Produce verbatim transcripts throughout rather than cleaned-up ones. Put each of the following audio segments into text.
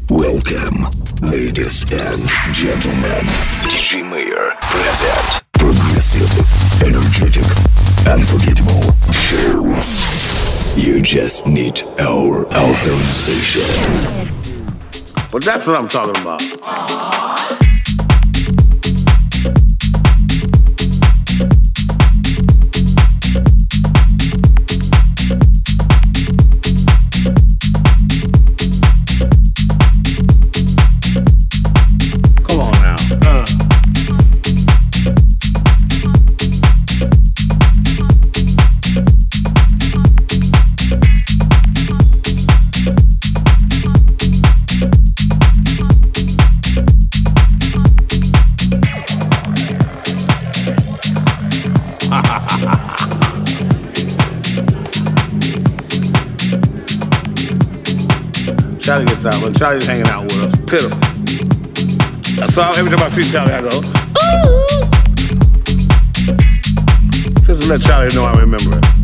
Welcome, ladies and gentlemen. ди джей Mayor present progressive, energetic, unforgettable show. You just need our authorization. Well, that's what I'm talking about. Charlie gets out. When Charlie's hanging out with us, pitiful. So every time I see Charlie, I go, ooh. Just to let Charlie know I remember it.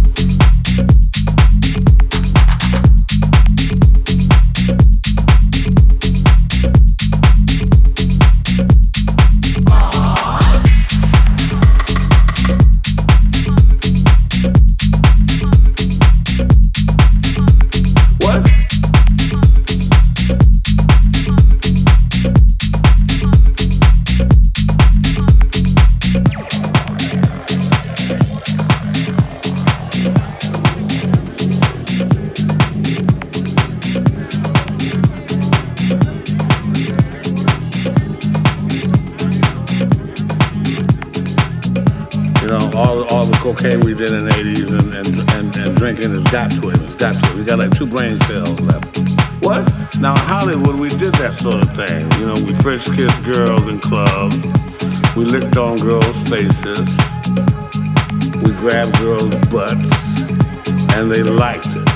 Cocaine we did in the eighties and, and, and, and drinking has got to it. It's got to it. We got like two brain cells left. What? Now in Hollywood we did that sort of thing. You know, we French kissed girls in clubs. We licked on girls' faces. We grabbed girls' butts. And they liked it.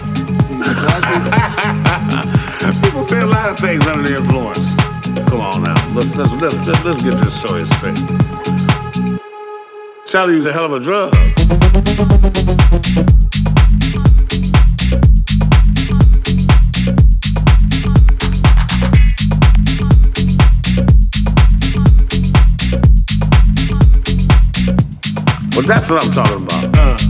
People say a lot of things under the influence. Come on now. Let's let's let's let's, let's get this story straight. Charlie used a hell of a drug. Well, that's what I'm talking about. Uh.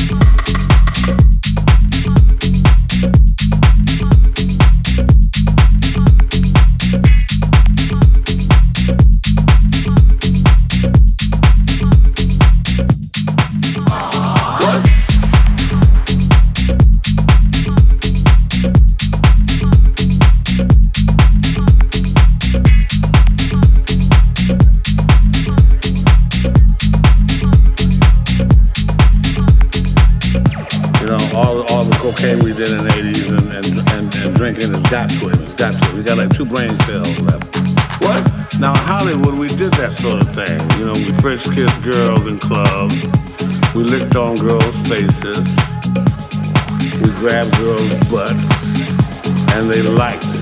Cocaine we did in the eighties and, and, and, and drinking has got to it. It's got to it. We got like two brain cells left. What? Now in Hollywood we did that sort of thing. You know, we French kissed girls in clubs. We licked on girls' faces. We grabbed girls' butts. And they liked it.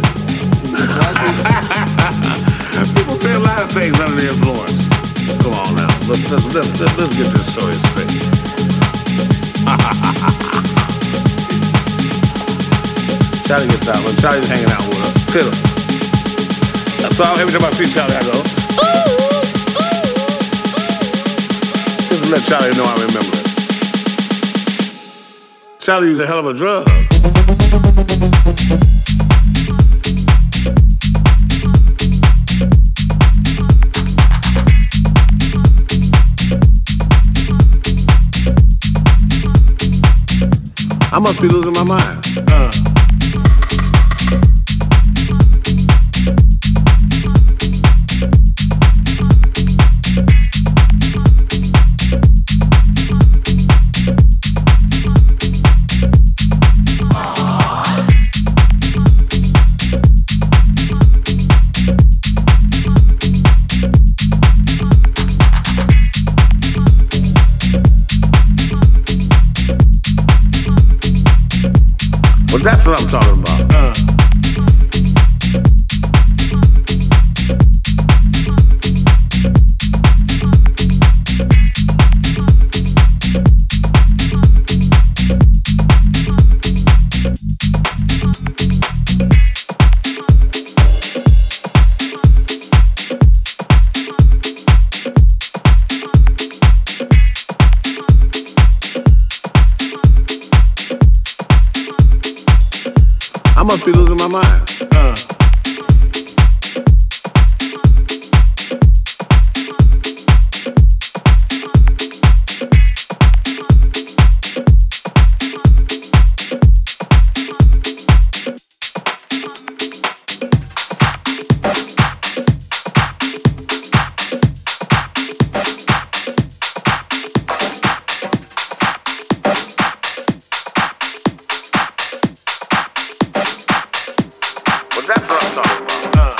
People say a lot of things under the influence. Come on now. Let's let's let's let's, let's get this story straight. Charlie gets out. When Charlie's hanging out with us, pitiful. So every time I see Charlie, I go, ooh, ooh. Just to let Charlie know I remember it. Charlie used a hell of a drug. I must be losing my mind. Uh. Well, that's what I'm talking about. Uh. mind. Uh. That's what I'm talking about. Uh.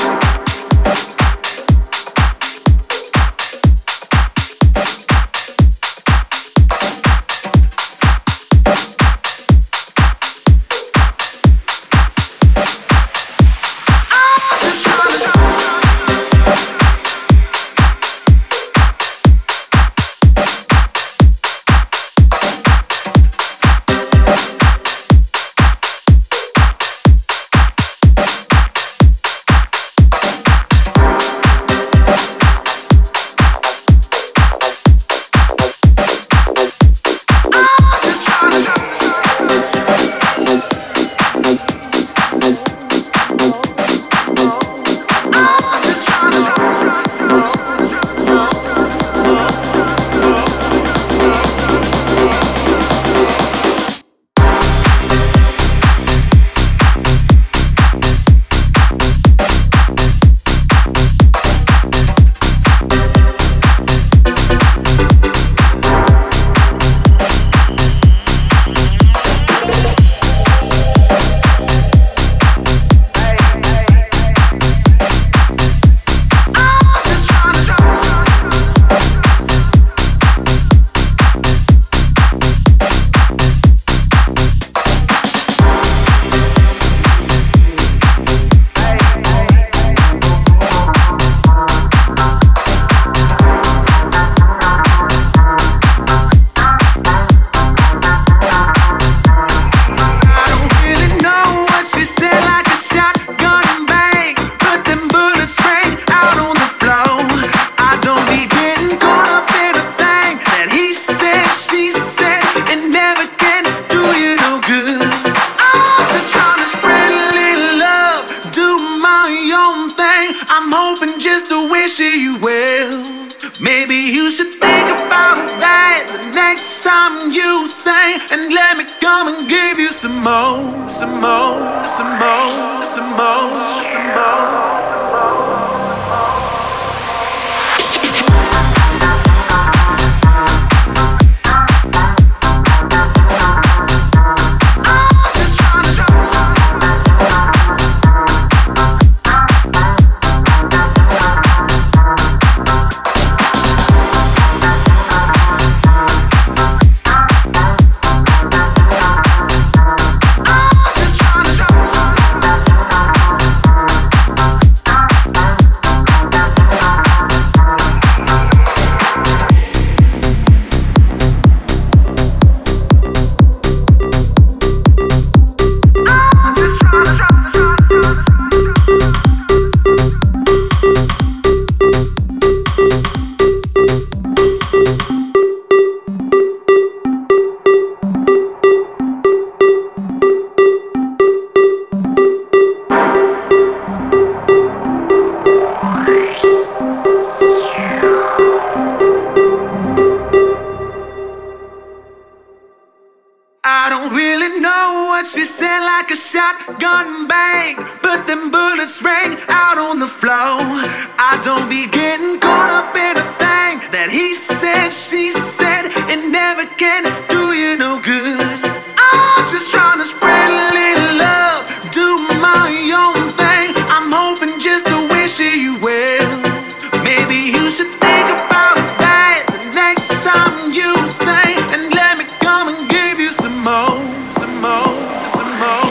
Shotgun bang, but them bullets rang out on the floor. I don't be getting caught up in a thing that he said, she said, it never can do you no good. I'm just trying to spread a little love, do my own thing. I'm hoping just to wish you well. Maybe you should think about that the next time you sing, and let me come and give you some more, some more, some more.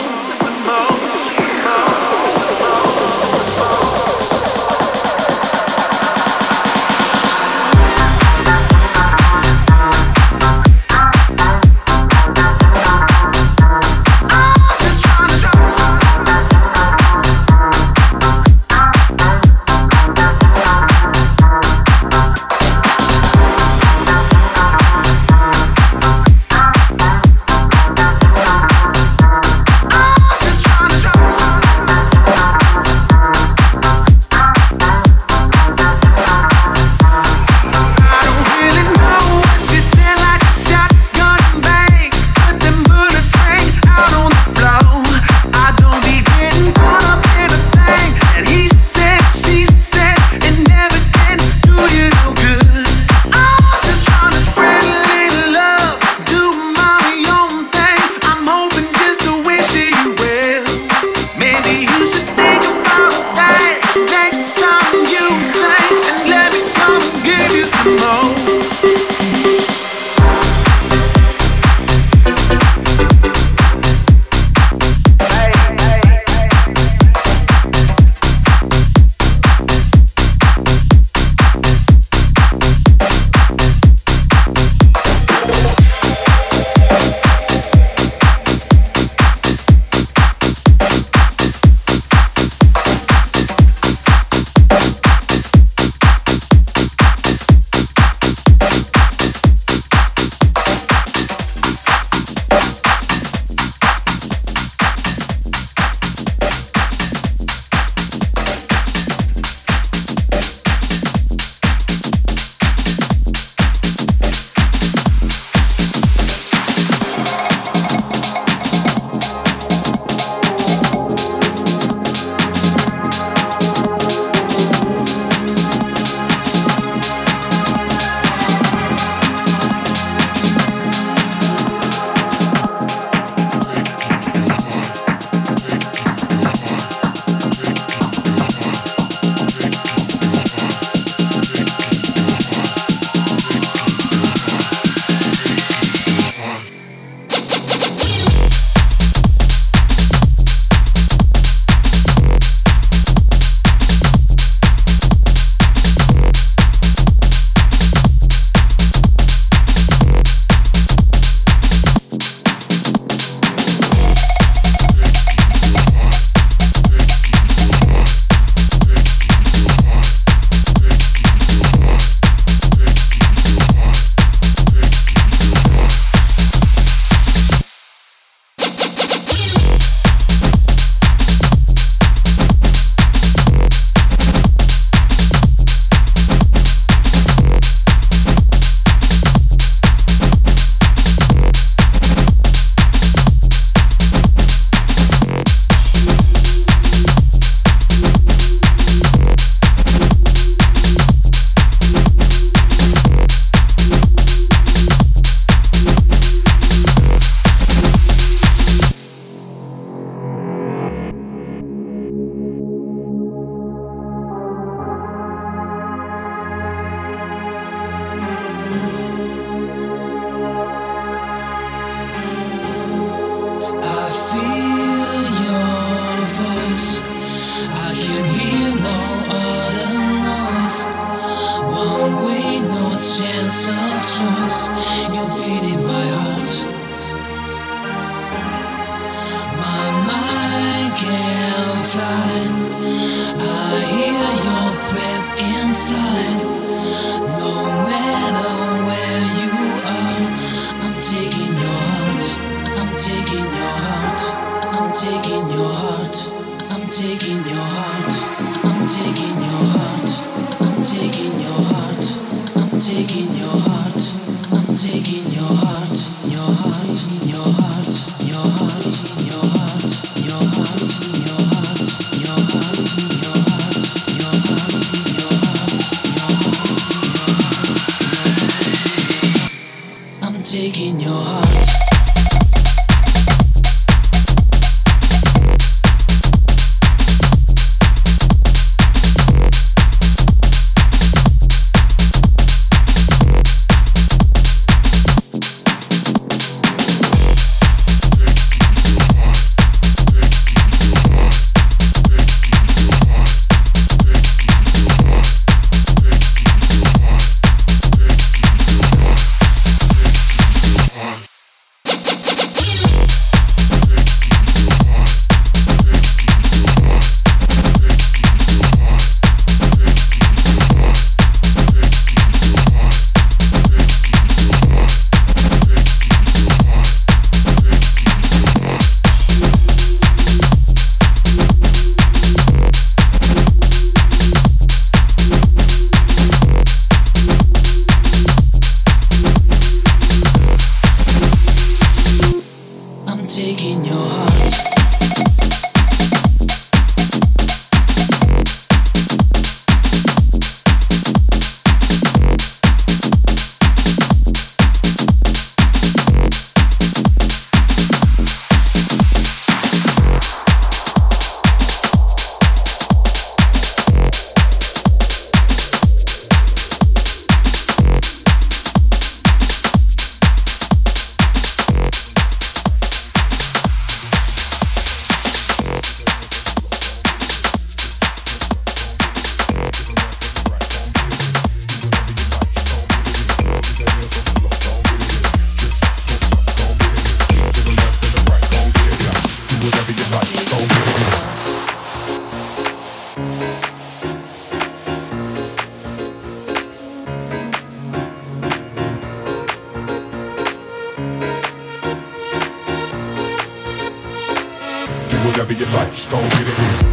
whatever you like, just gon' get it in.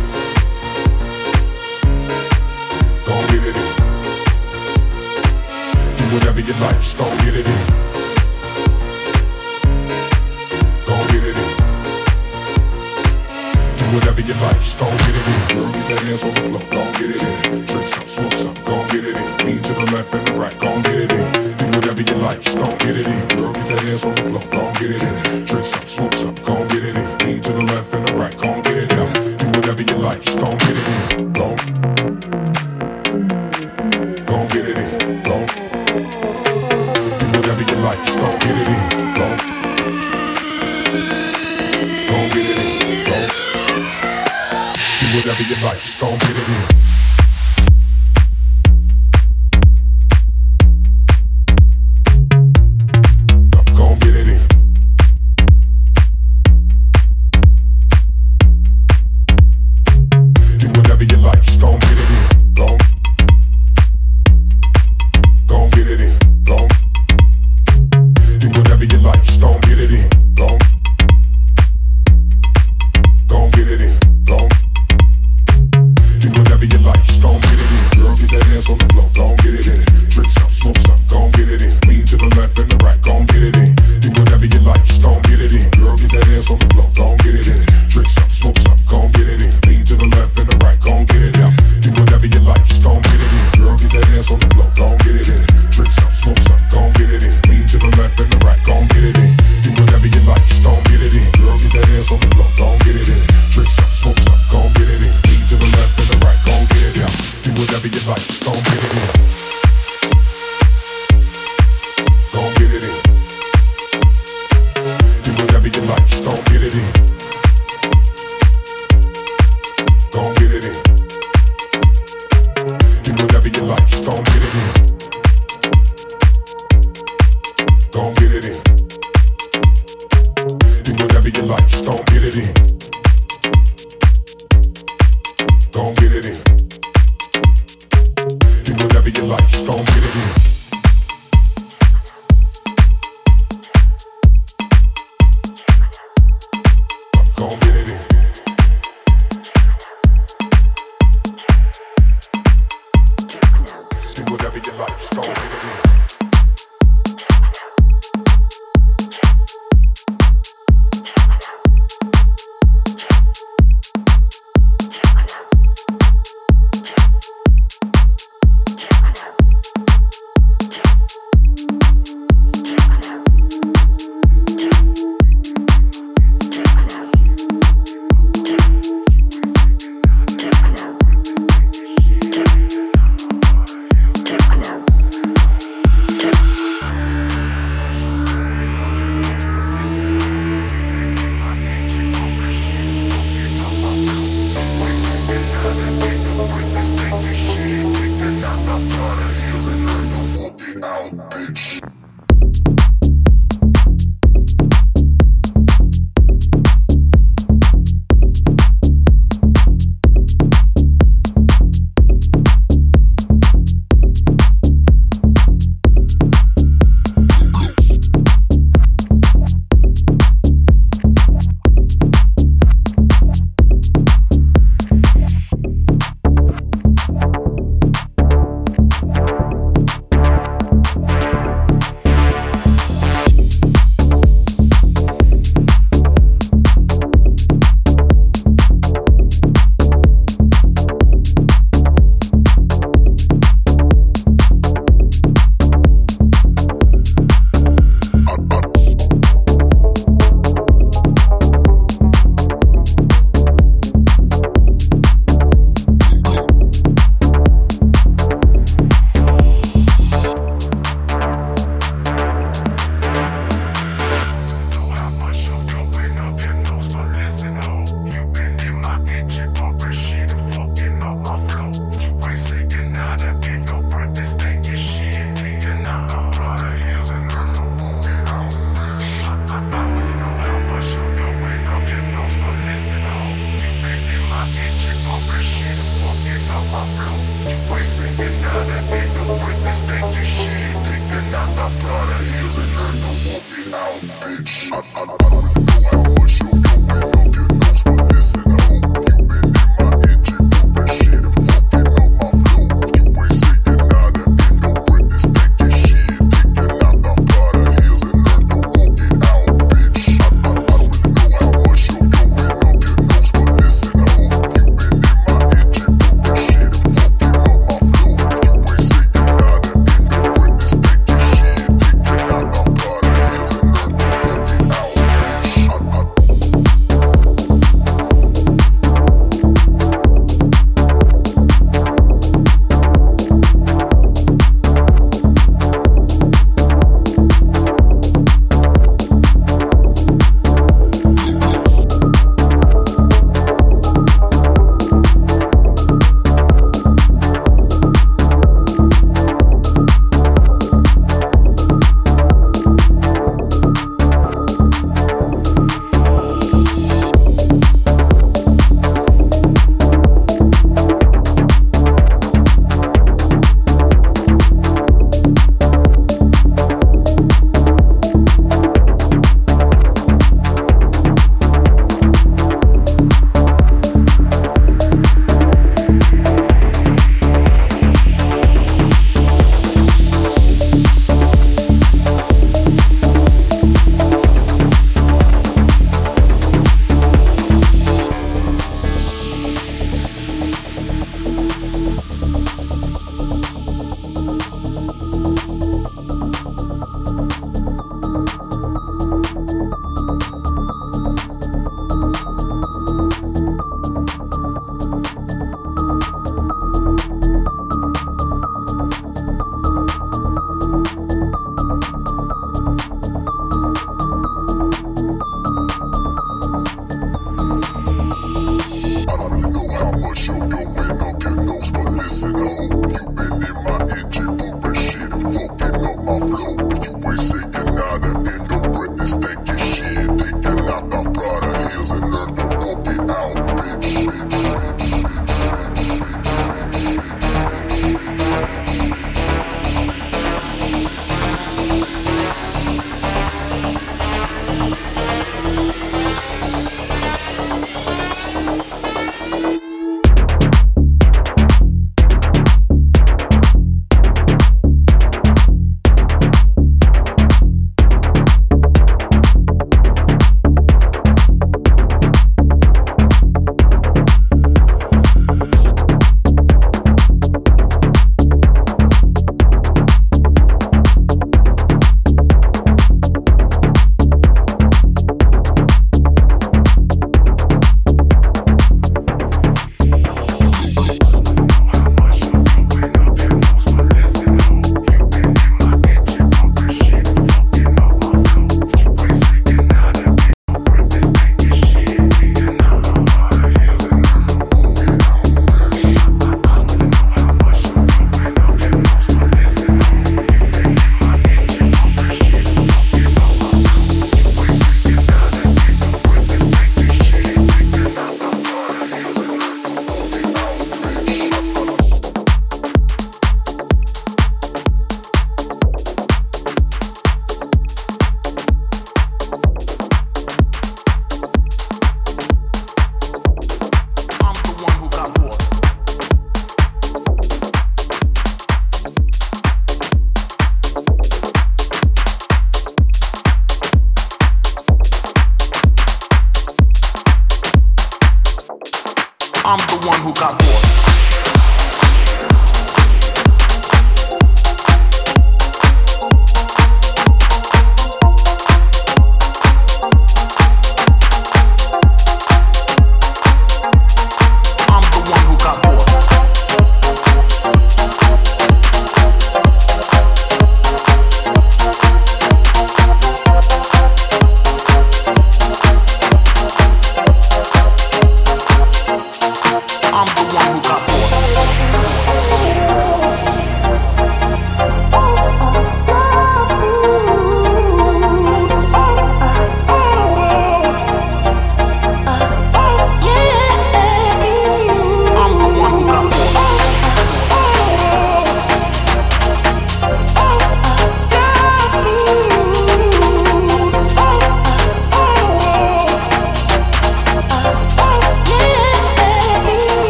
Gon' get it in. Do whatever you like, just gon' get it in. Gon' get it in. Do whatever you like, just gon' get it in. Girl, get that ass on the floor, gon' get it in. Drink some, smoke some, gon' get it in. Lean to the left and the right, gon' get it in. Do whatever you like, just gon' get it in. Girl, get that ass on the floor, gon' get it in. Drink some, smoke some, gon' get it in. Lean to the left and the right, gon' get it in. Do whatever you like, just gon' get it in. Gon' gon' get it in. Gon' do whatever you like, just gon' get it in. Gon' gon' get it in. Gon' do whatever you like, just gon' get it in. Gon' get it in. gon' get it in. Do whatever you like, just gon' get it in. Gon' get it in. Do whatever you like, just gon' get it in.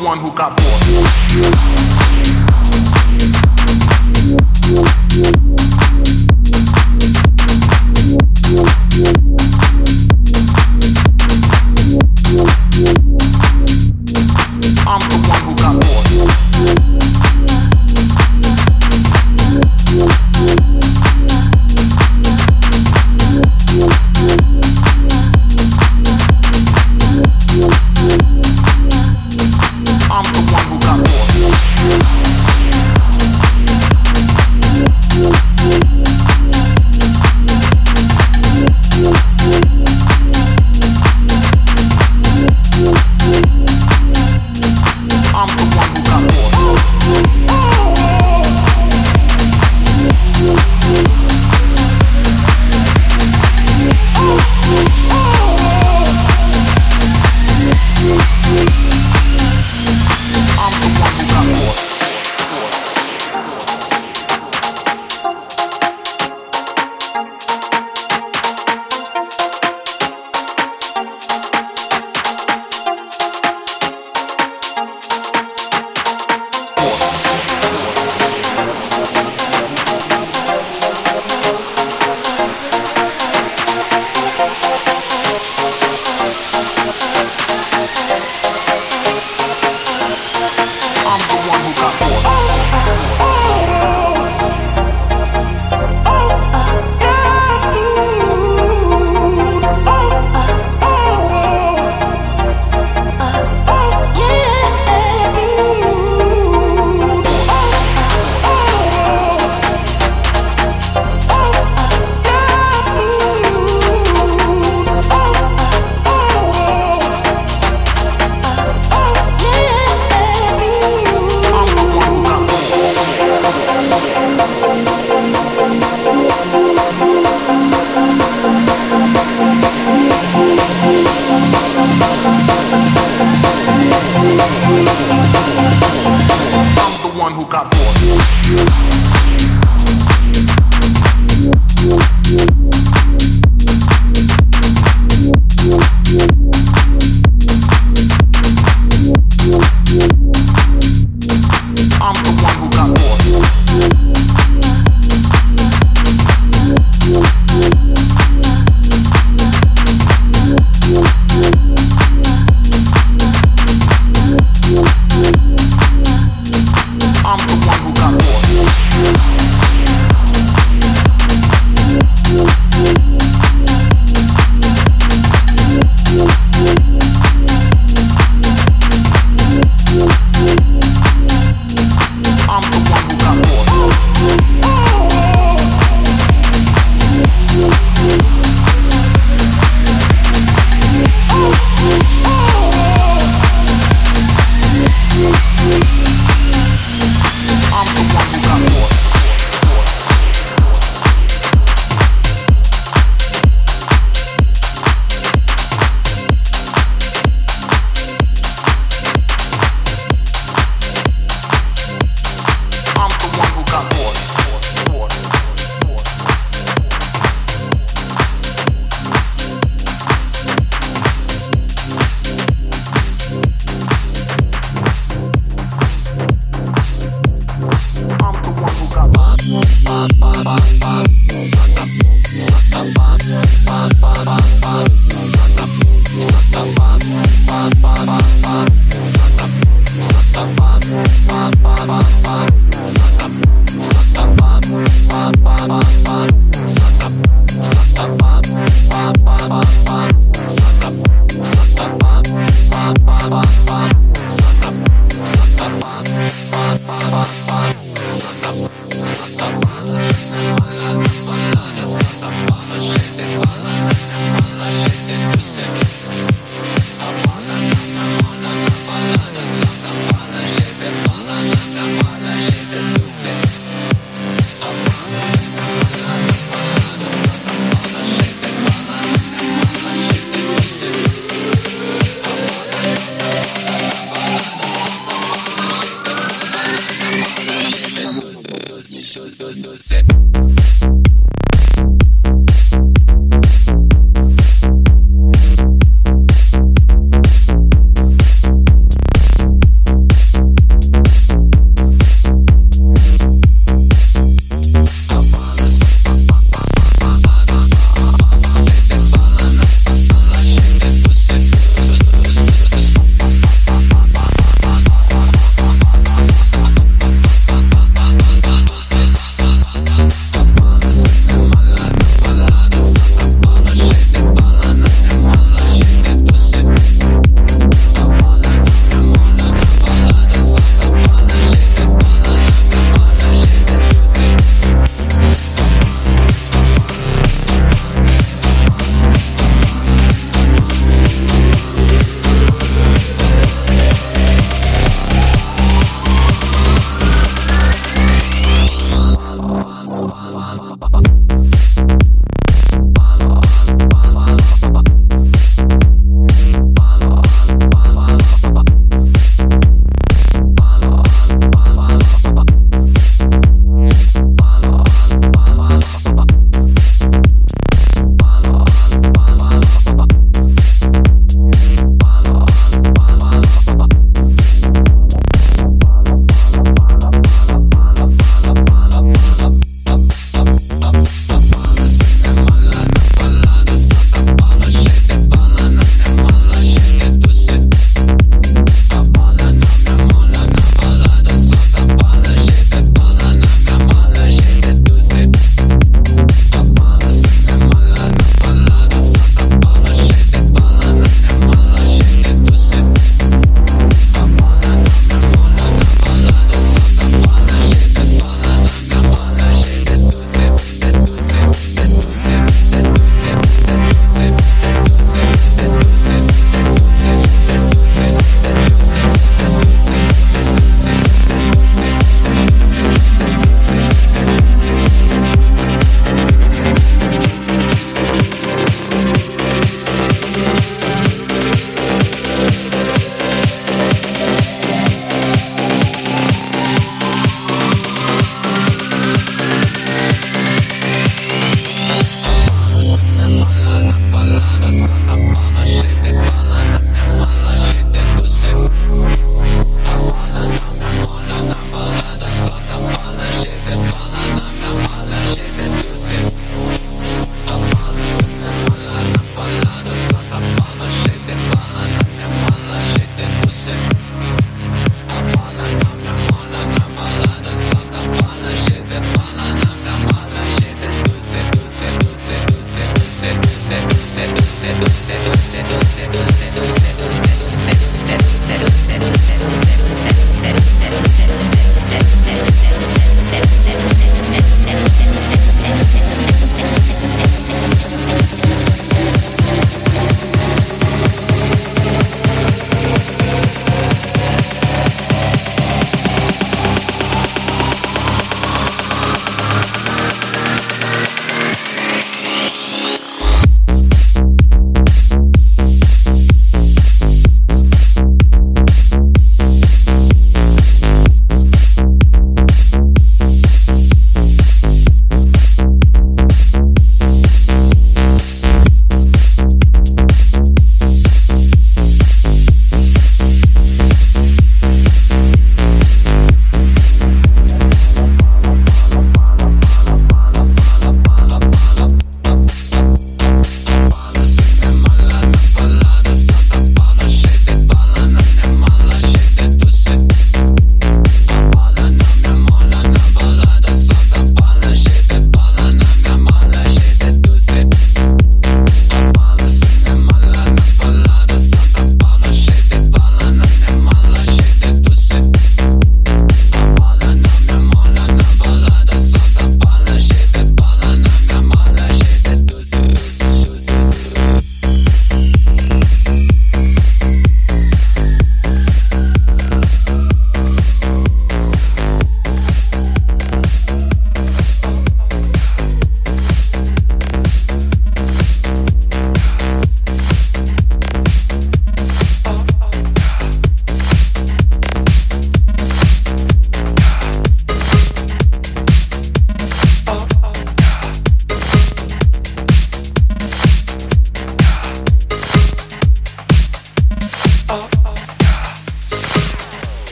one who got bored. I'm the one who got bored.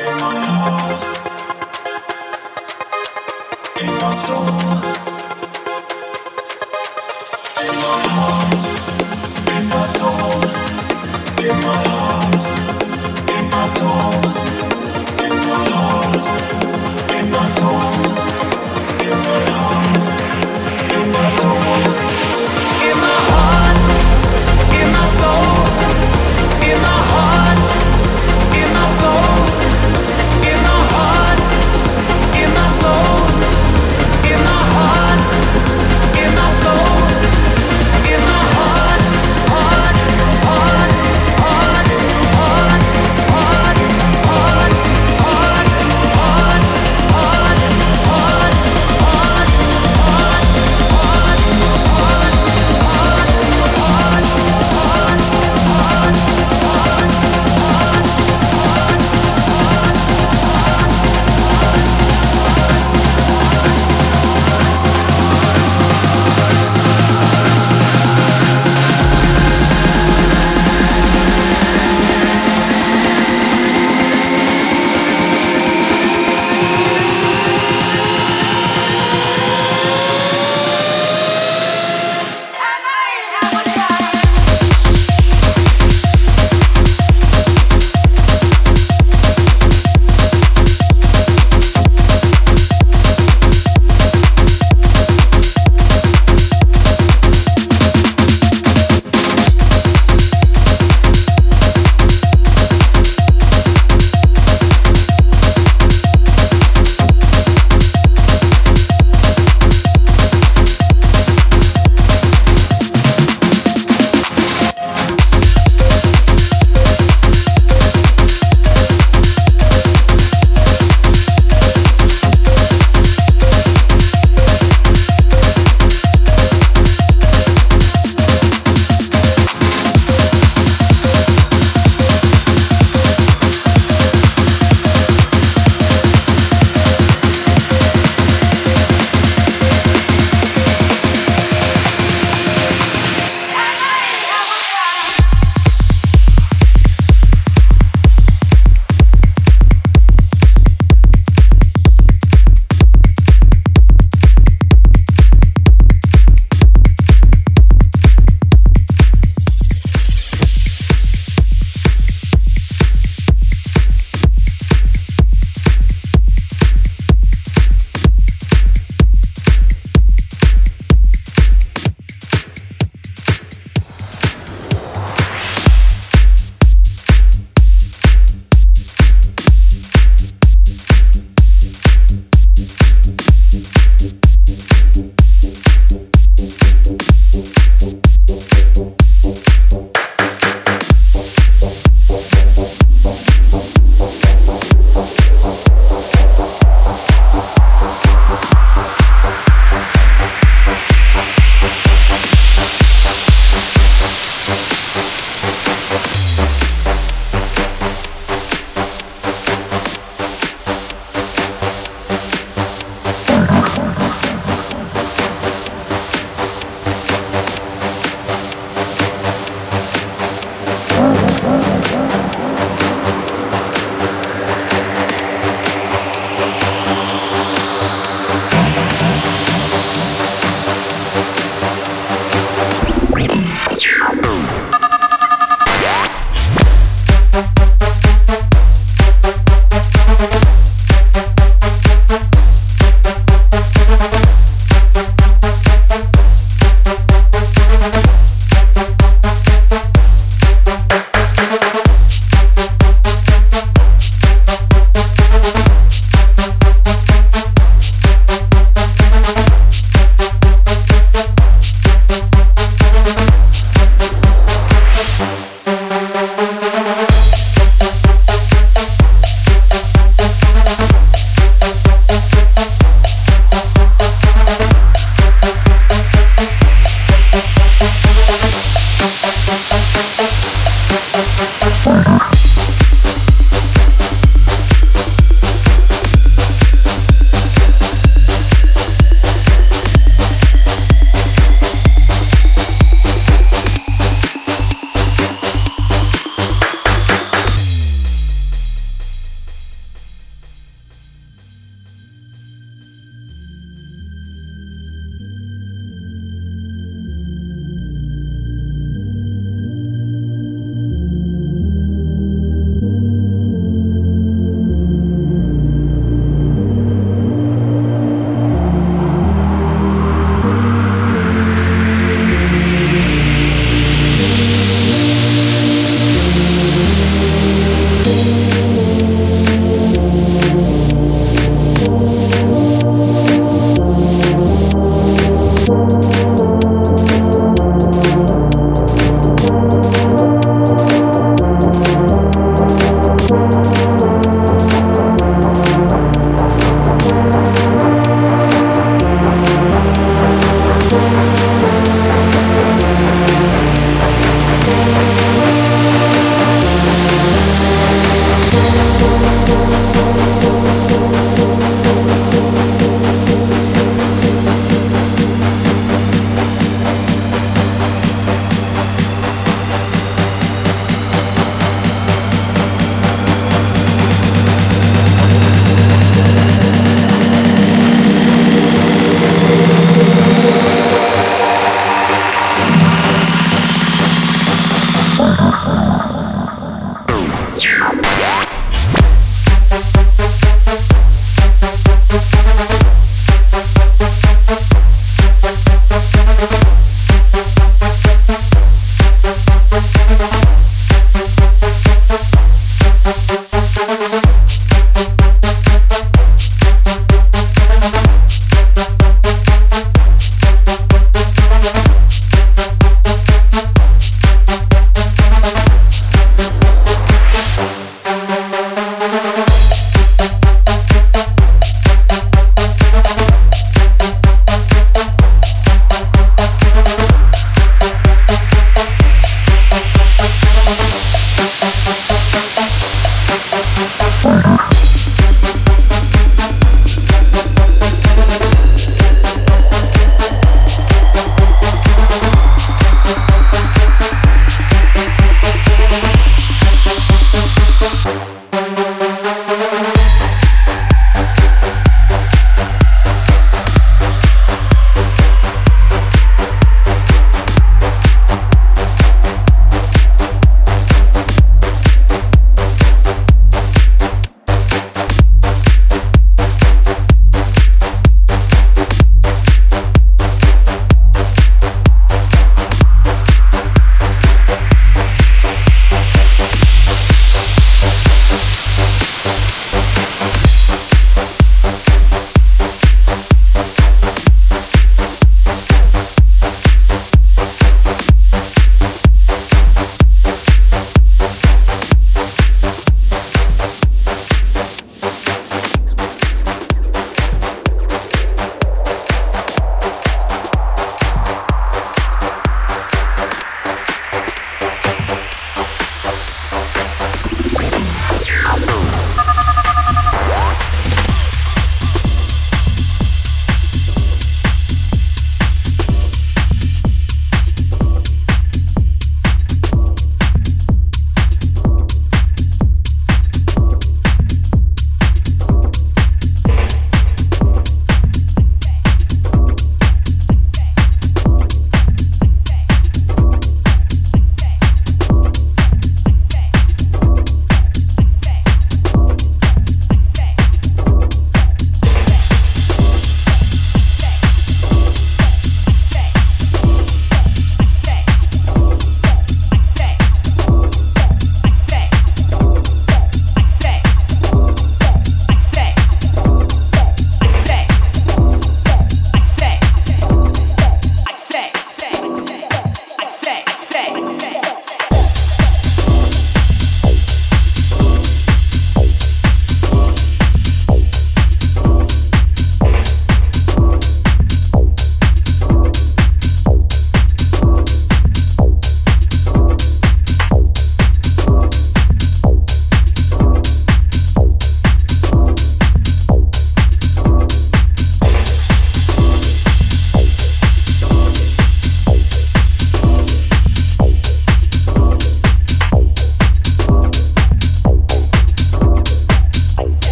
Heart, heart, heart, heart,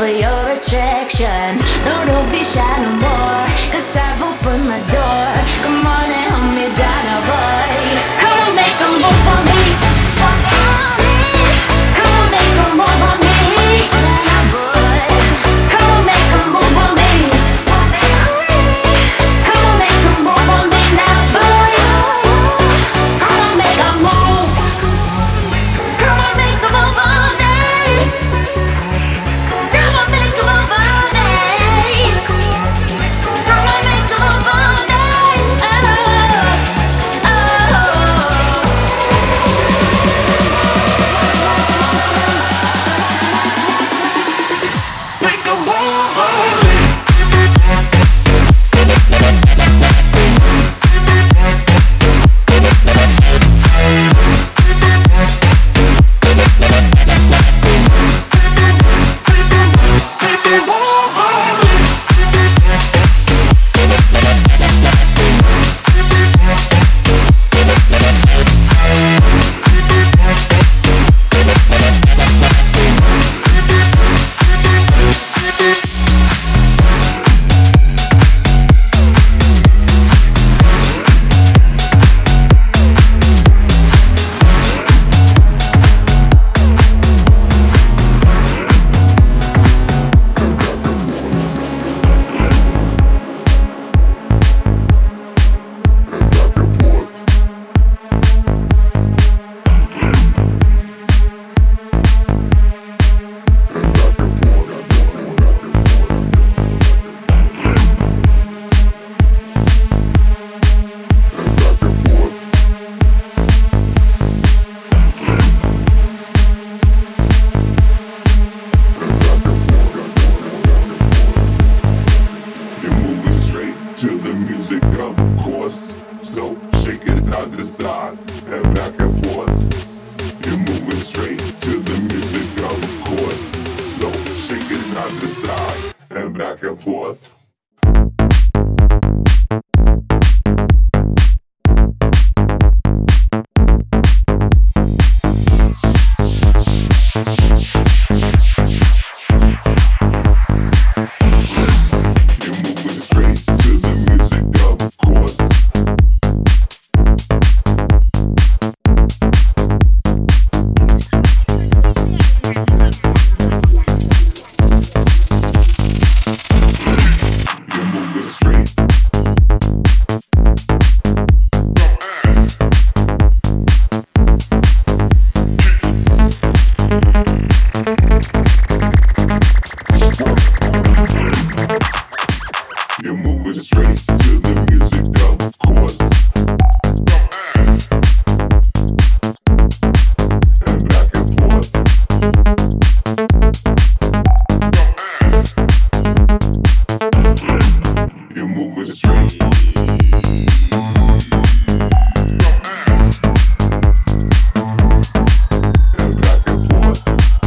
for your attraction. No, don't be shy no more, cause I've opened my door. Come on and hold me down, oh boy. Come on, make a move for me. Come on, make a move for me. Come on, make a move for me. Come on, make a move for me now, boy. Come on, make a move. Come on, make a move for me. Come on, make a move for me. Come on, make a move for me. Oh, oh. Make a move on me. Make a move on me. You're moving straight to the music, of course. So shake it side to side and back and forth. You're moving straight to the music, of course. So shake it side to side and back and forth. You're moving straight to the music, of course. You're moving straight. You're moving straight to the music, of course. And back and forth. You're moving straight. And back and forth.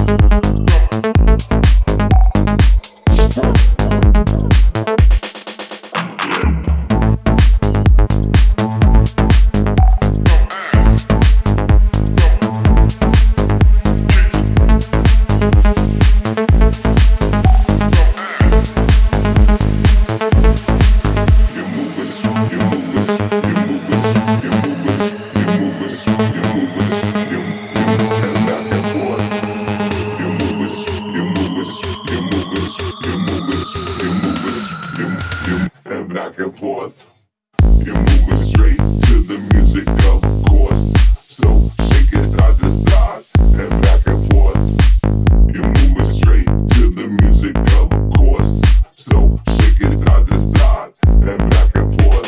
You're moving, you're moving, you're moving, you're moving, you're moving, you're moving, you're moving back and forth. You're moving, you're moving, you're moving, you're moving, you're moving, you're moving back and forth. You're moving straight to the music, of course. So shake it side to side and back and forth. You're moving straight to the music, of course. So shake it side to side and back and forth.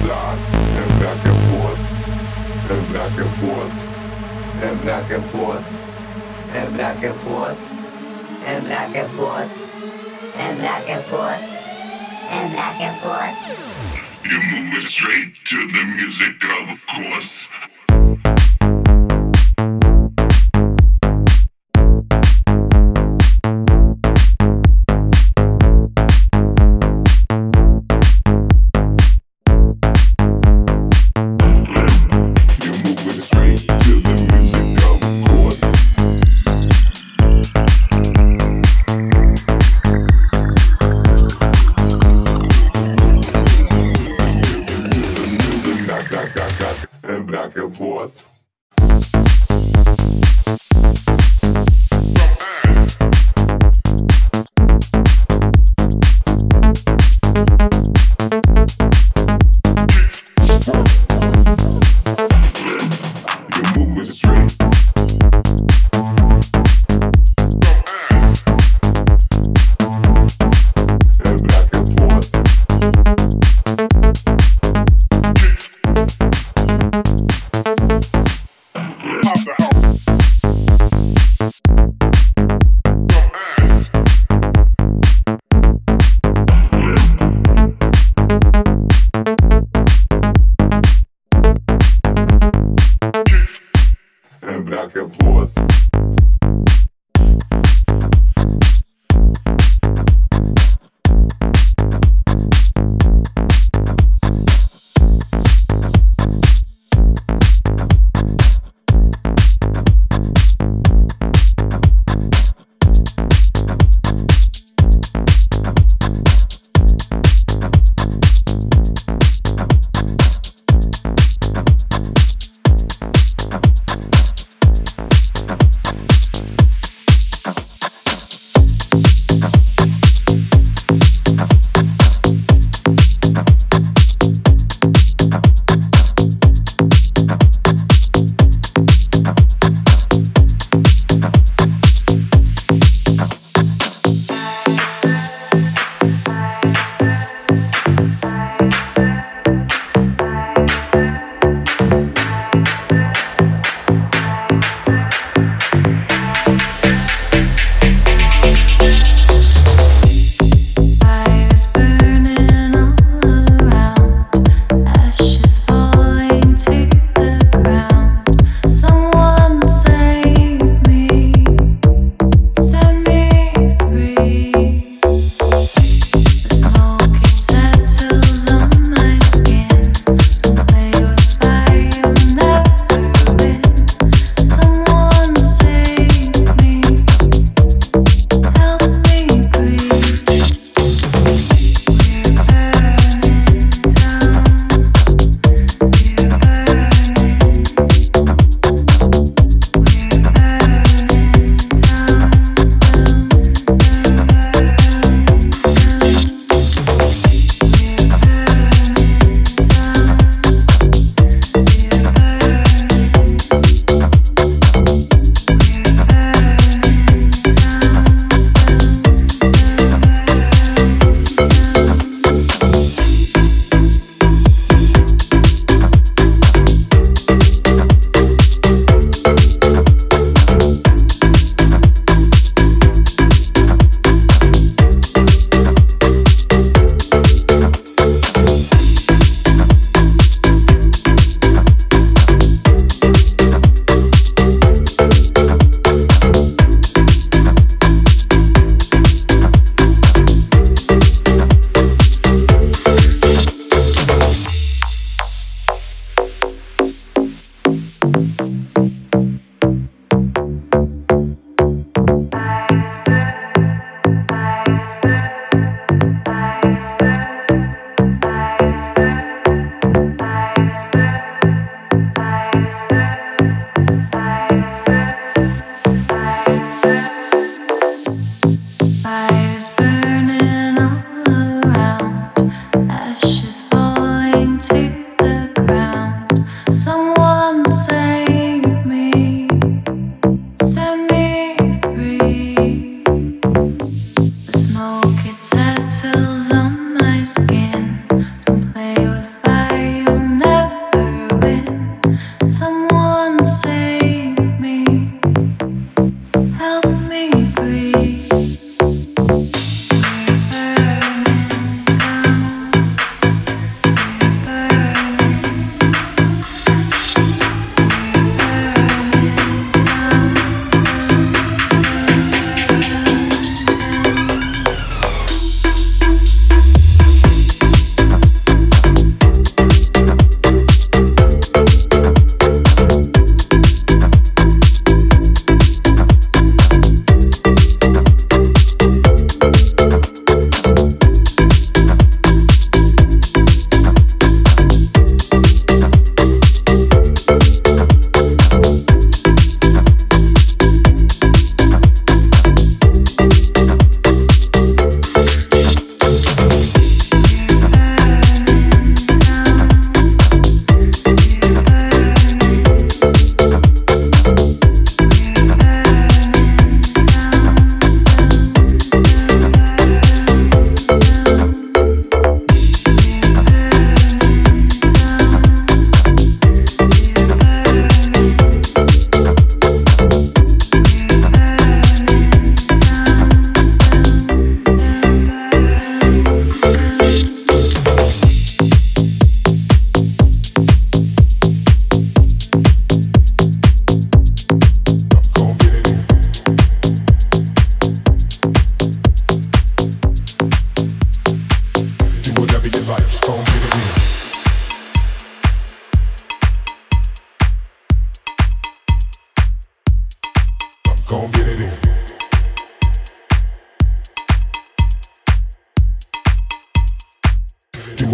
side, and back and forth, and back and forth, and back and forth, and back and forth, and back and forth, and back and forth, and back and forth. You move it straight to the music, of course.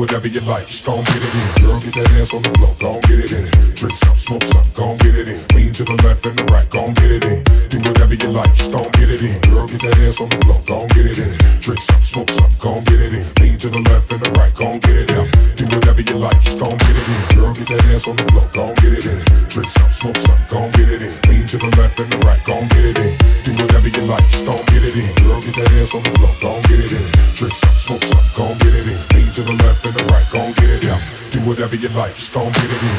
whatever you like, just gon' get it in. Girl, get that ass on the floor, gon' get it in. Drink some, smoke some, gon' get it in. Lean to the left and the right, gon' get it in. Do whatever you like, just gon' get it in. Girl, get that ass on the floor, gon' get it in. Drink some, smoke some, gon' get it in. Lean to the left and the right, gon' get it in. Do whatever you like, just gon' get it in. Girl, get that ass on the floor, gon' get it in. Drink some, smoke some, gon' get it in. Lean to the left and the right, gon' get it in. Do whatever you like, just gon' get it in. Girl, get that ass on the floor, gon' get it in. Drink some, smoke some, gon' get it in. Lean to the left and the right, gon' get it in. Do whatever you like, just gon' get it in.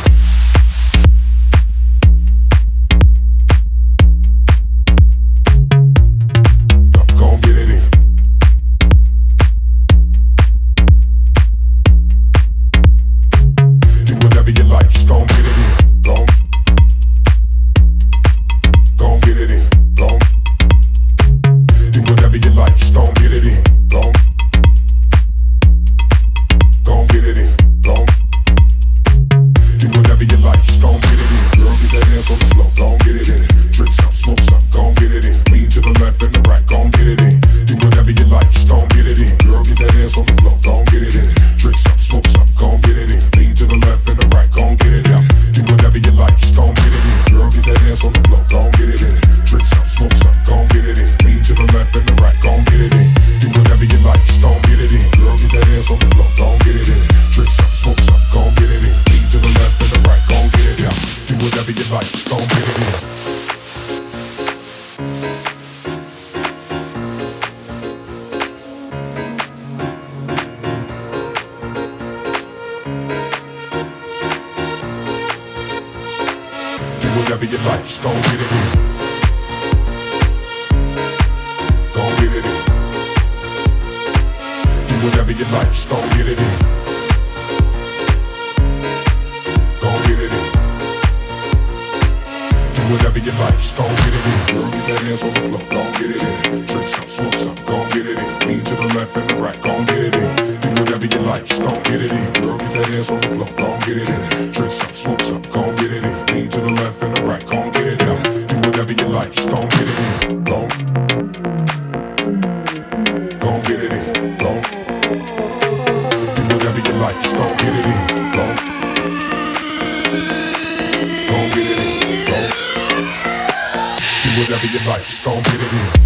Whatever you like, just gon' get it in. Gon' get it in. Do whatever you like, just gon' get it in. Gon' get it in. Do whatever you like, just gon' get it in. Girl, get that ass on the floor, gon' get it in. Drink some, smoke some, gon' get it in. Lean to the left and the right, gon' get it in. Do whatever you like, just gon' get it in. Girl, get that ass on the floor, gon' get it in. Drink some, smoke some, gon' get it in. Lean to the left and the right, gon' get it in. Do whatever you like, just gon' get it in. Gon' Gon' get it in. Gon' Do whatever you like, just gon' get it in. Gon' Gon' get it in. Gon' Do whatever you like, just gon' get it in.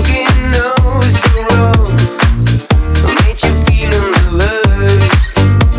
Feeling the lust.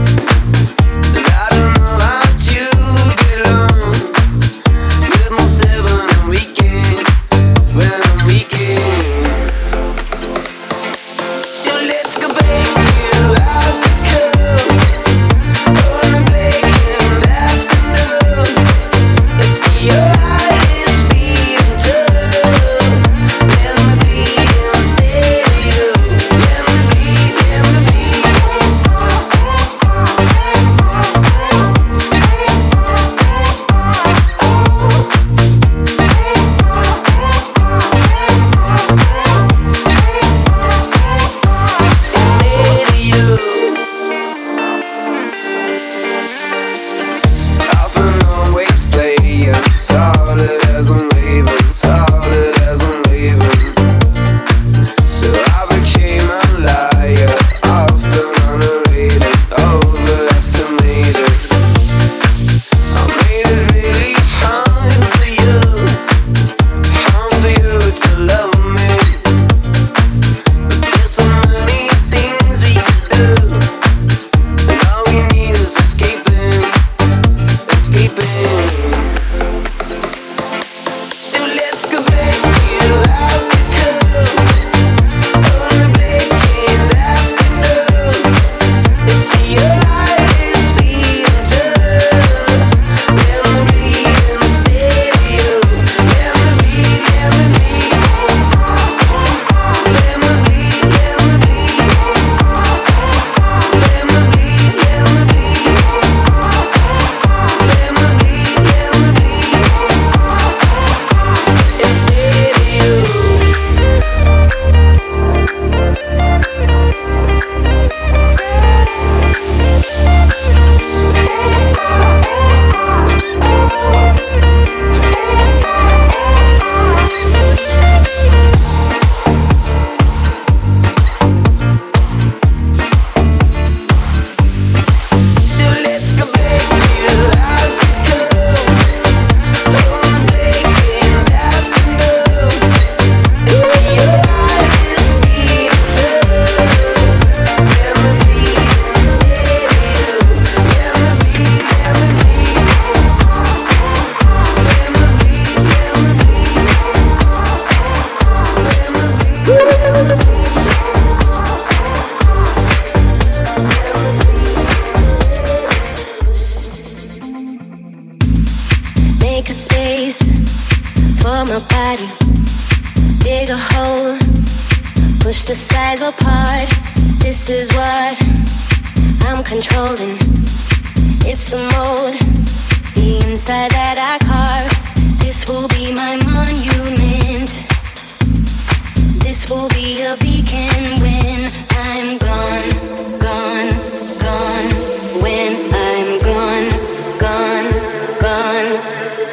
push the sides apart. This is what I'm controlling. It's a mode, the inside that I carve. This will be my monument. This will be a beacon when I'm gone, gone, gone. When I'm gone, gone, gone.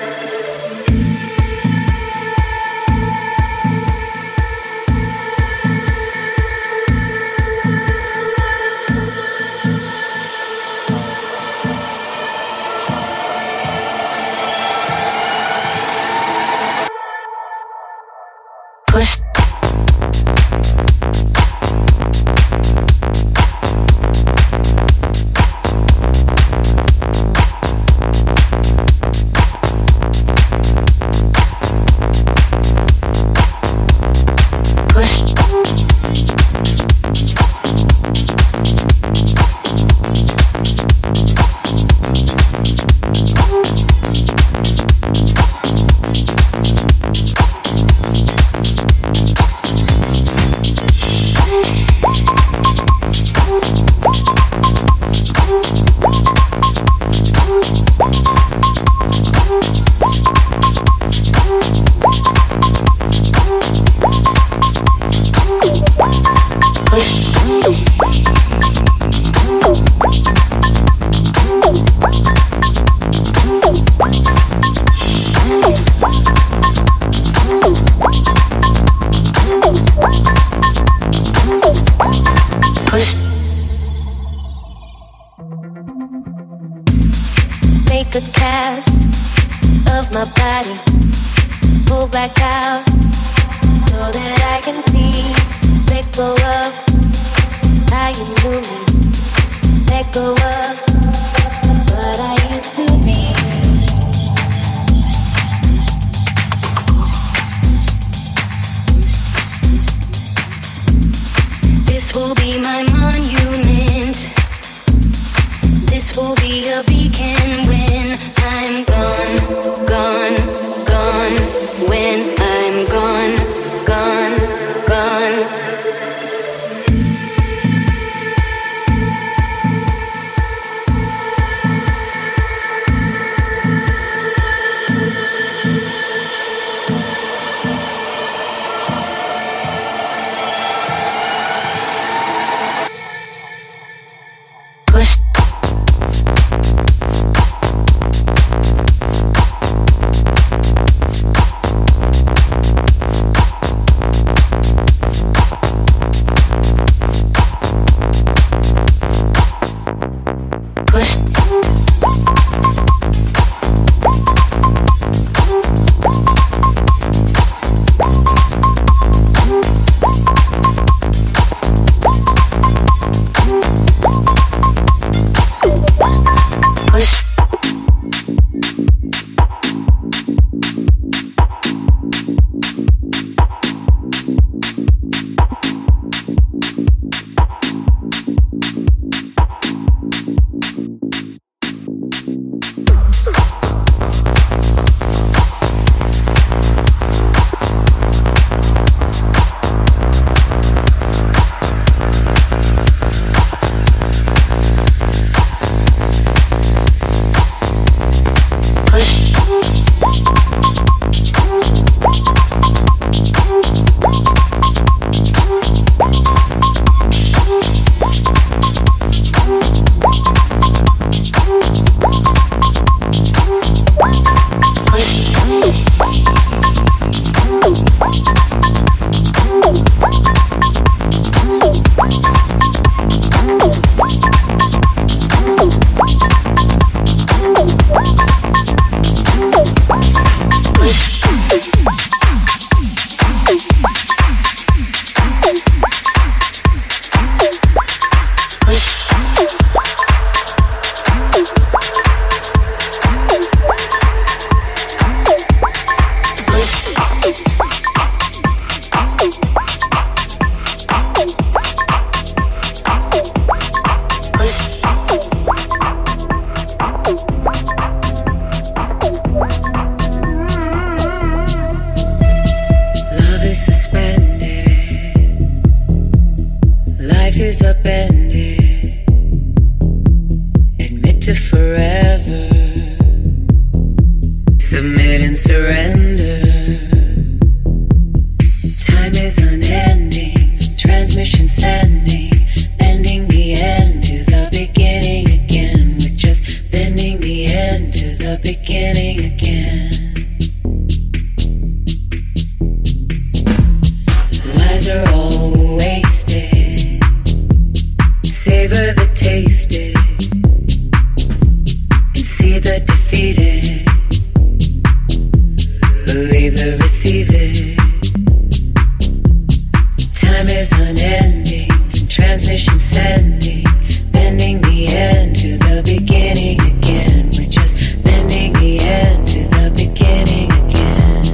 Push. Make a cast of my body, pull back out so that I can see. Let go of how you knew me. Let go of what I used to be. This will be my monument. This will be a beacon when I'm gone, gone, gone. When I'm gone, gone, gone. is upended. Admit to forever. Submit and surrender. Time is unending. Transmission sending. Bending the end to the beginning again. We're just bending the end to the beginning again. Lies are all wasted. Savor the tasted. And see the defeated. Believe the receive it. Time is unending. Transmission sending. Bending the end to the beginning again. We're just bending the end to the beginning again.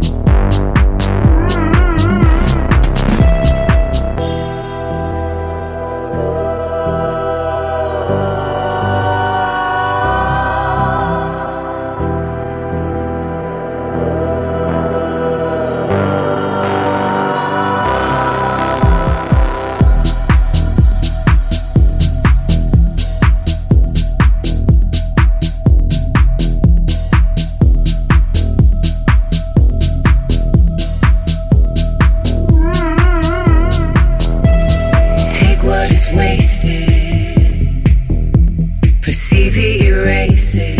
Perceive the erased.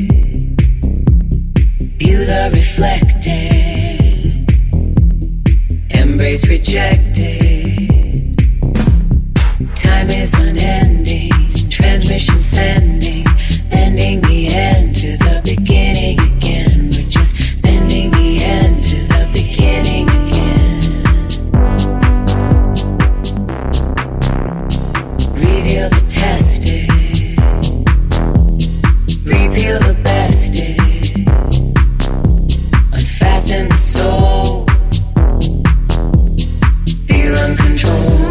View the reflected. Embrace rejected. Time is unending. Transmission sending. Bending the end to the beginning again. We're just bending the end to the beginning again. Reveal the tested. Repeal the bested. Unfasten the soul. Feel uncontrolled.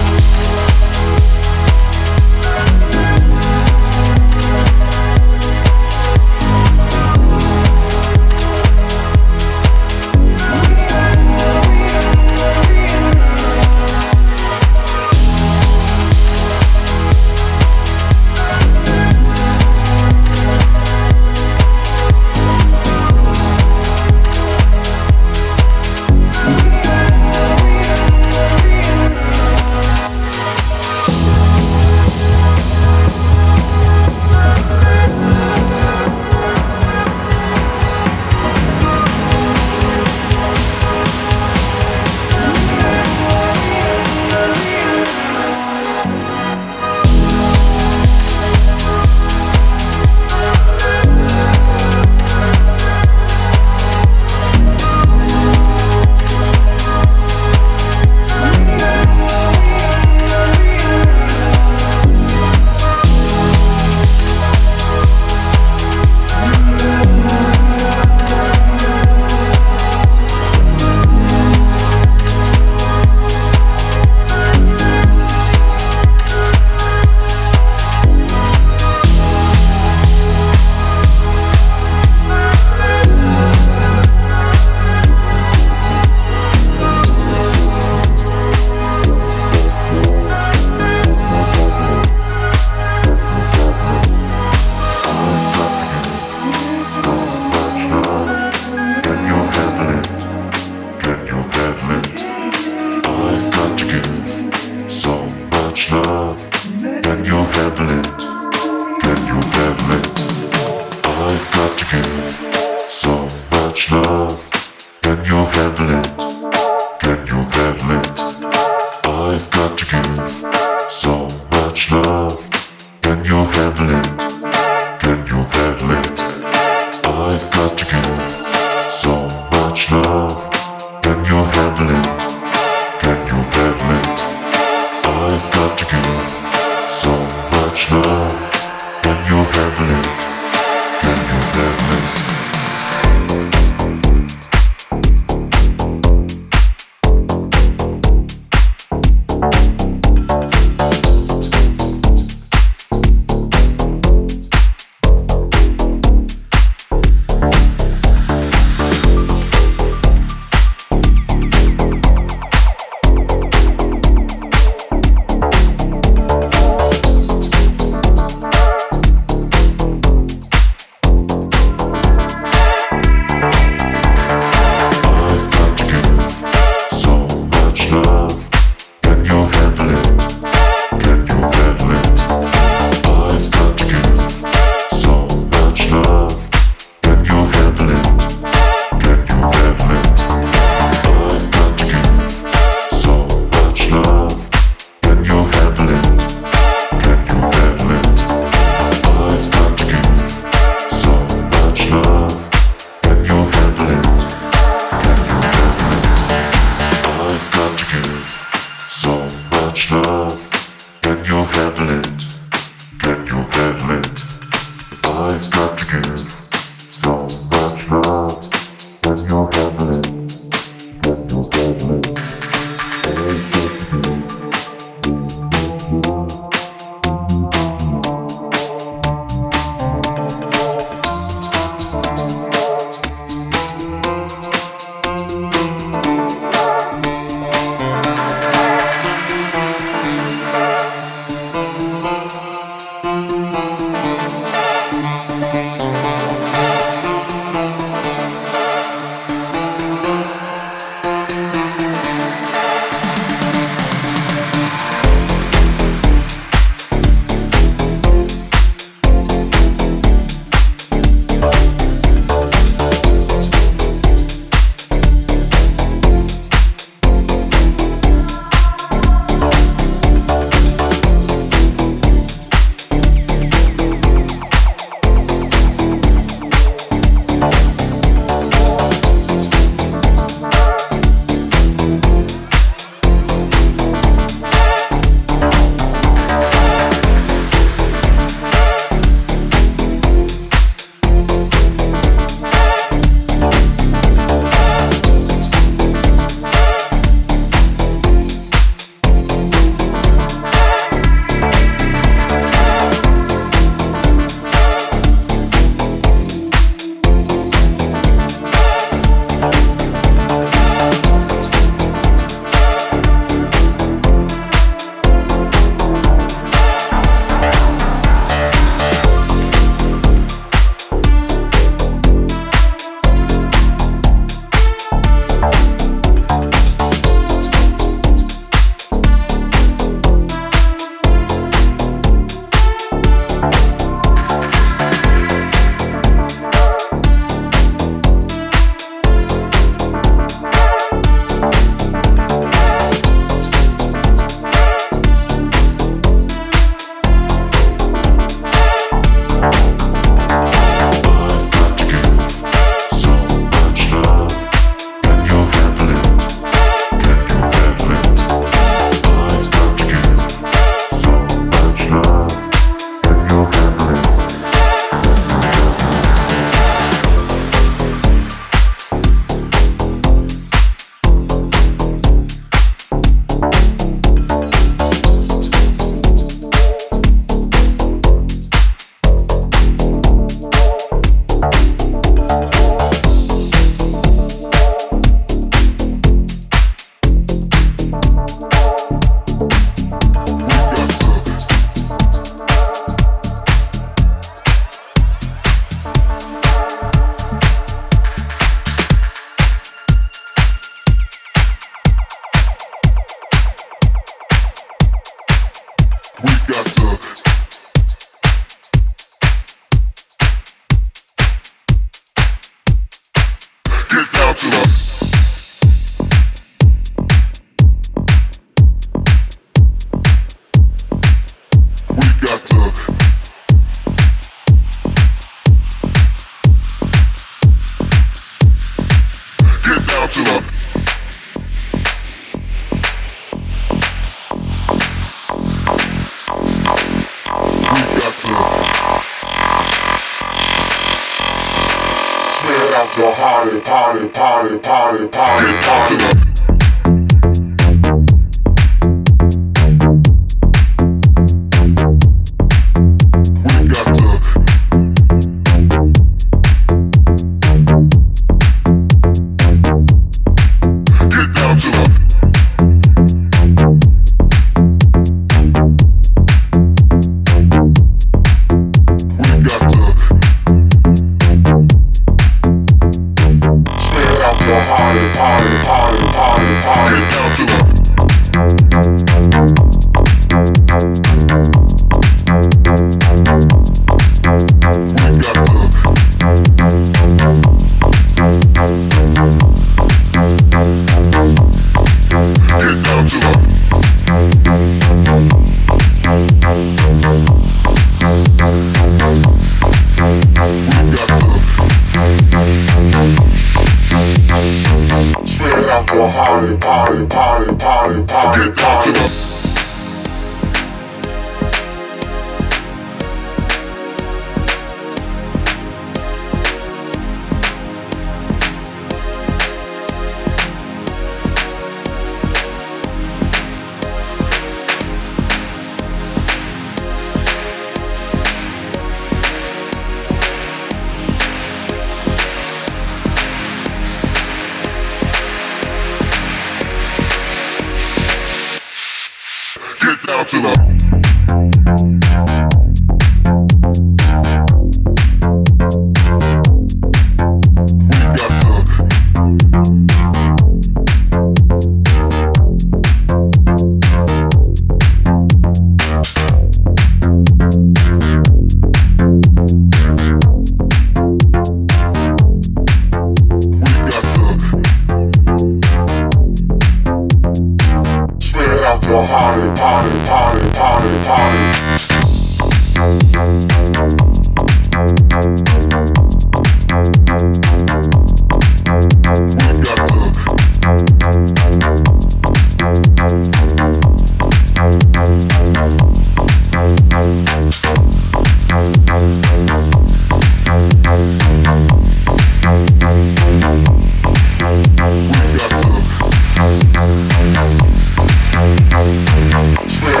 Swear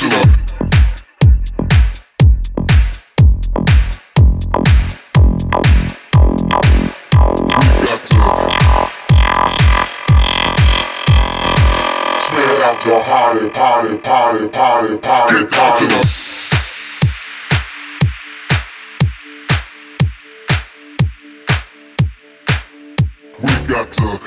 Your party, party, party, party, party, party. We got to.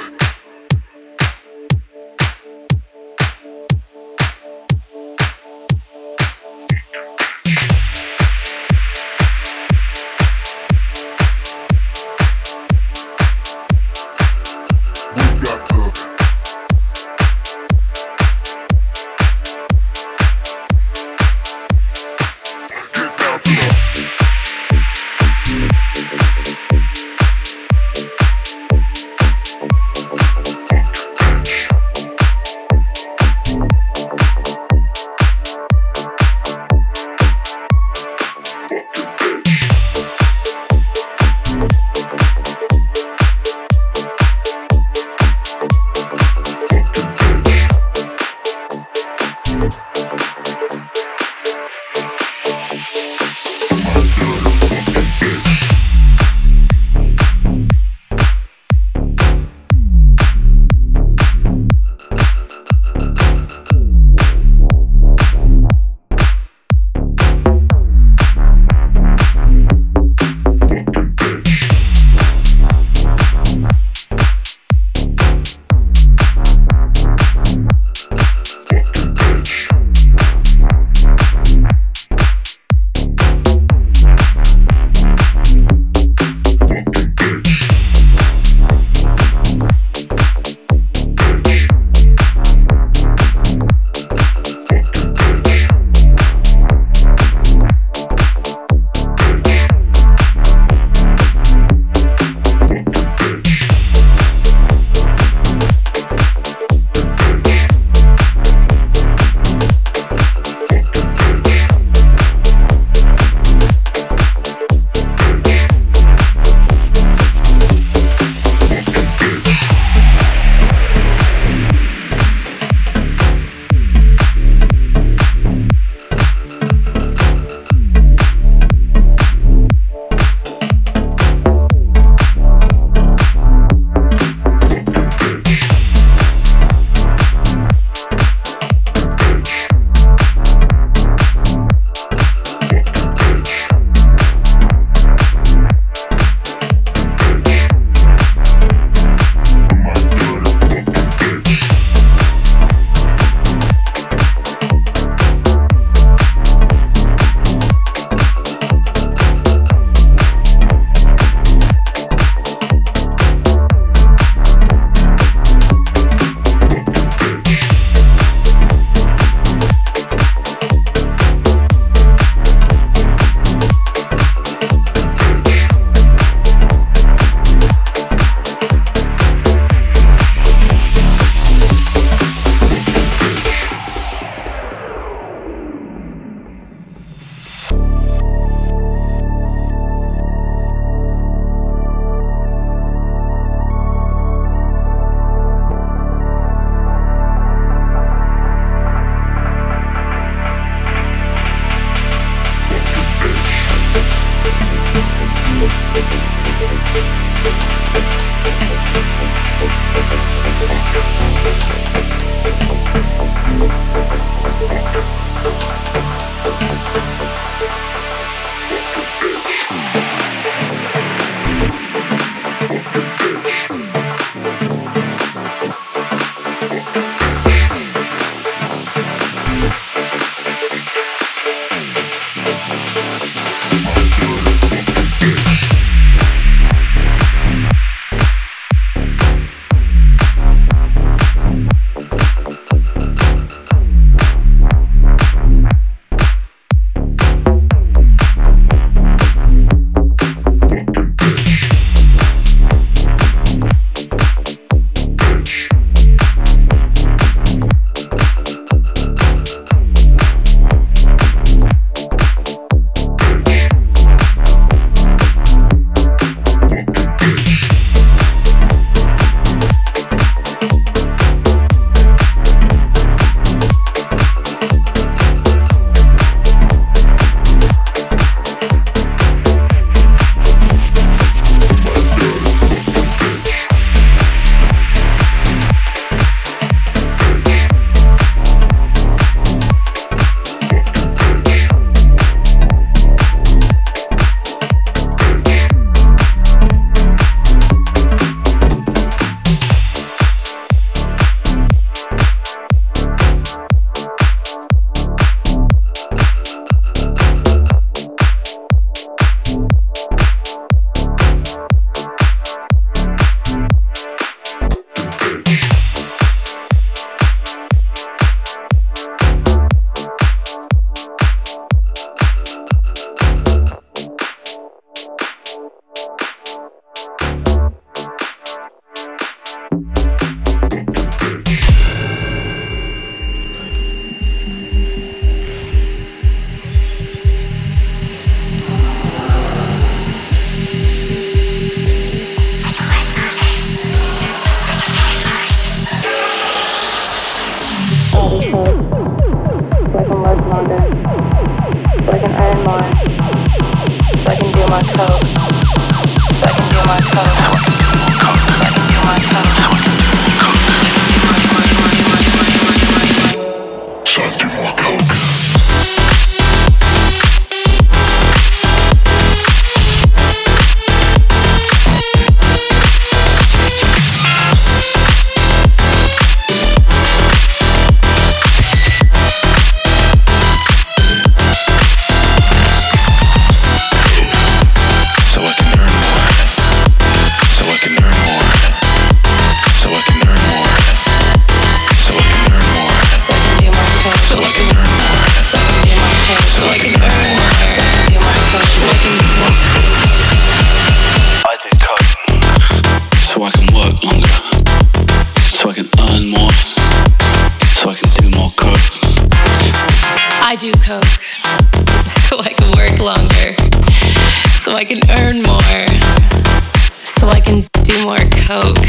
coke, so I can work longer, so I can earn more, so I can do more coke.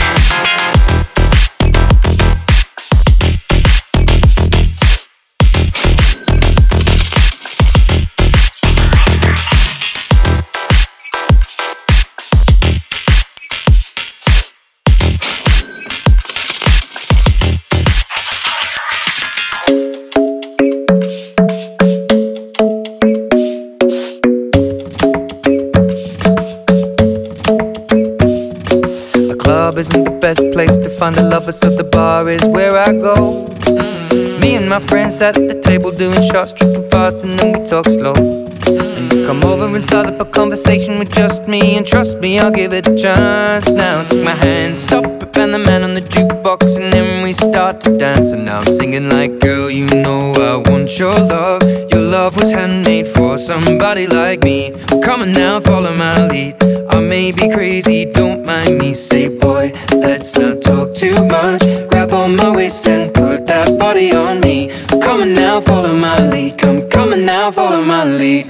Isn't the best place to find the lovers, so the bar is where I go. Mm-hmm. Me and my friends sat at the table doing shots, tripping fast, and then we talk slow. And you come over and start up a conversation with just me, and trust me, I'll give it a chance. Now take my hand, stop it, and the man on the jukebox, and then we start to dance. And now I'm singing like, girl, you know I want your love. Your love was handmade for somebody like me. Come on now, follow my lead. I may be crazy, don't mind me. Say, boy, let's not talk too much. Grab on my waist and put that body on me. Come on now, follow my lead. Come, come on now, follow my lead.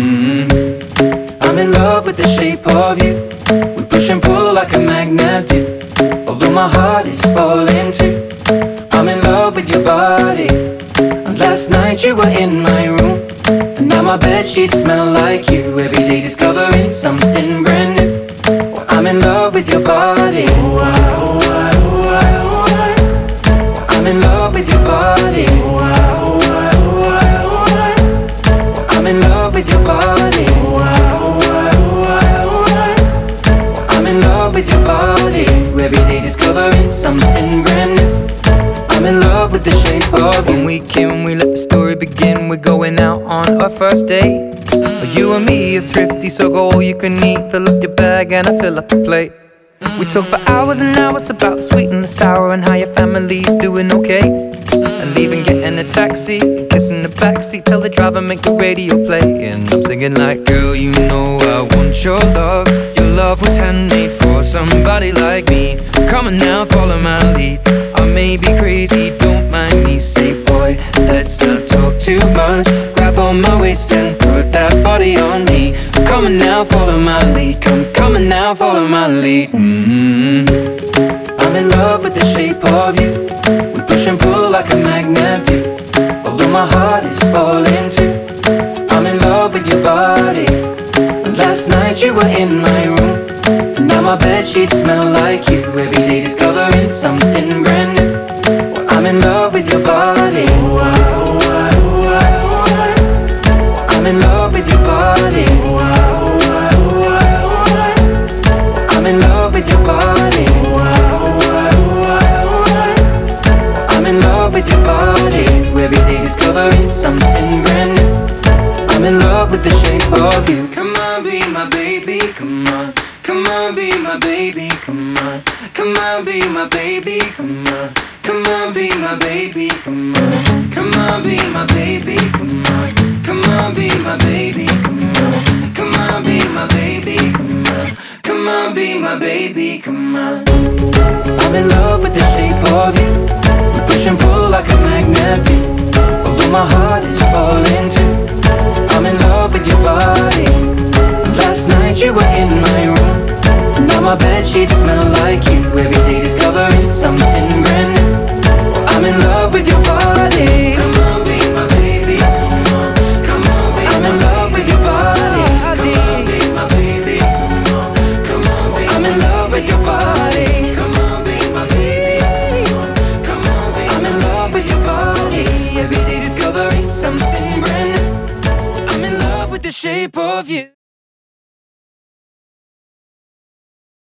Mm-hmm. I'm in love with the shape of you. We push and pull like a magnet do. Although my heart is falling too. I'm in love with your body. And last night you were in my room. And now my bedsheets smell like you. Every day discovering something brand new. Well, I'm in love with your body. Oh, I, oh, I, oh, I, oh, I. Well, I'm in love with your body. Oh, I, oh, I, oh, I, oh, I. Well, I'm in love with your body. Oh, I, oh, I, oh, I, oh, I. Well, I'm in love with your body. Every day discovering something brand new. I'm in love with the shape of you. When we came, we let the story begin. We're going out on our first date. mm. You and me are thrifty, so go all you can eat. Fill up your bag and I fill up the plate. mm. We talk for hours and hours about the sweet and the sour, and how your family's doing okay. mm. And leaving, getting a taxi, kissing the backseat, tell the driver make the radio play. And I'm singing like, girl, you know I want your love. Your love was handmade for somebody like me. Come on now, follow my lead. I may be crazy, don't mind me. Say, boy, let's not talk too much. Grab on my waist and put that body on me. Come on now, follow my lead. Come, come on now, follow my lead. Mm-hmm. I'm in love with the shape of you. We push and pull like a magnet do. Although my heart is falling too. I'm in love with your body. Last night you were in my room. Now my bedsheets smell like you. Every day discovering something brand new. Well, I'm in love with your body. Oh, I, oh, I, oh, I, oh, I. I'm in love with your body. Oh, I, oh, I, oh, I, oh, I. I'm in love with your body. Oh, I, oh, I, oh, I, oh, I. I'm in love with your body. Every day discovering something brand new. I'm in love with the shape of you. Come on, be my baby, come on. Come on, be my baby, come on. Come on, be my baby, come on. Come on, be my baby, come on. Come on, be my baby, come on. Come on, be my baby, come on. Come on, be my baby, come on. Come on, be my baby, come on. I'm in love with the shape of you. We push and pull like a magnet do. Although my heart is falling too. I'm in love with your body. Last night you were in my room. Now my bedsheets smell like you. Every day discovering something brand new. I'm in love with your body. Come on, be my baby. Come on, come on, be I'm in love with your body. Come on, be my baby. Come on, come on, be I'm in love with your body. Come on, be my baby. Come on, come on, be I'm in love with your body. Every day discovering something brand new. I'm in love with the shape of you.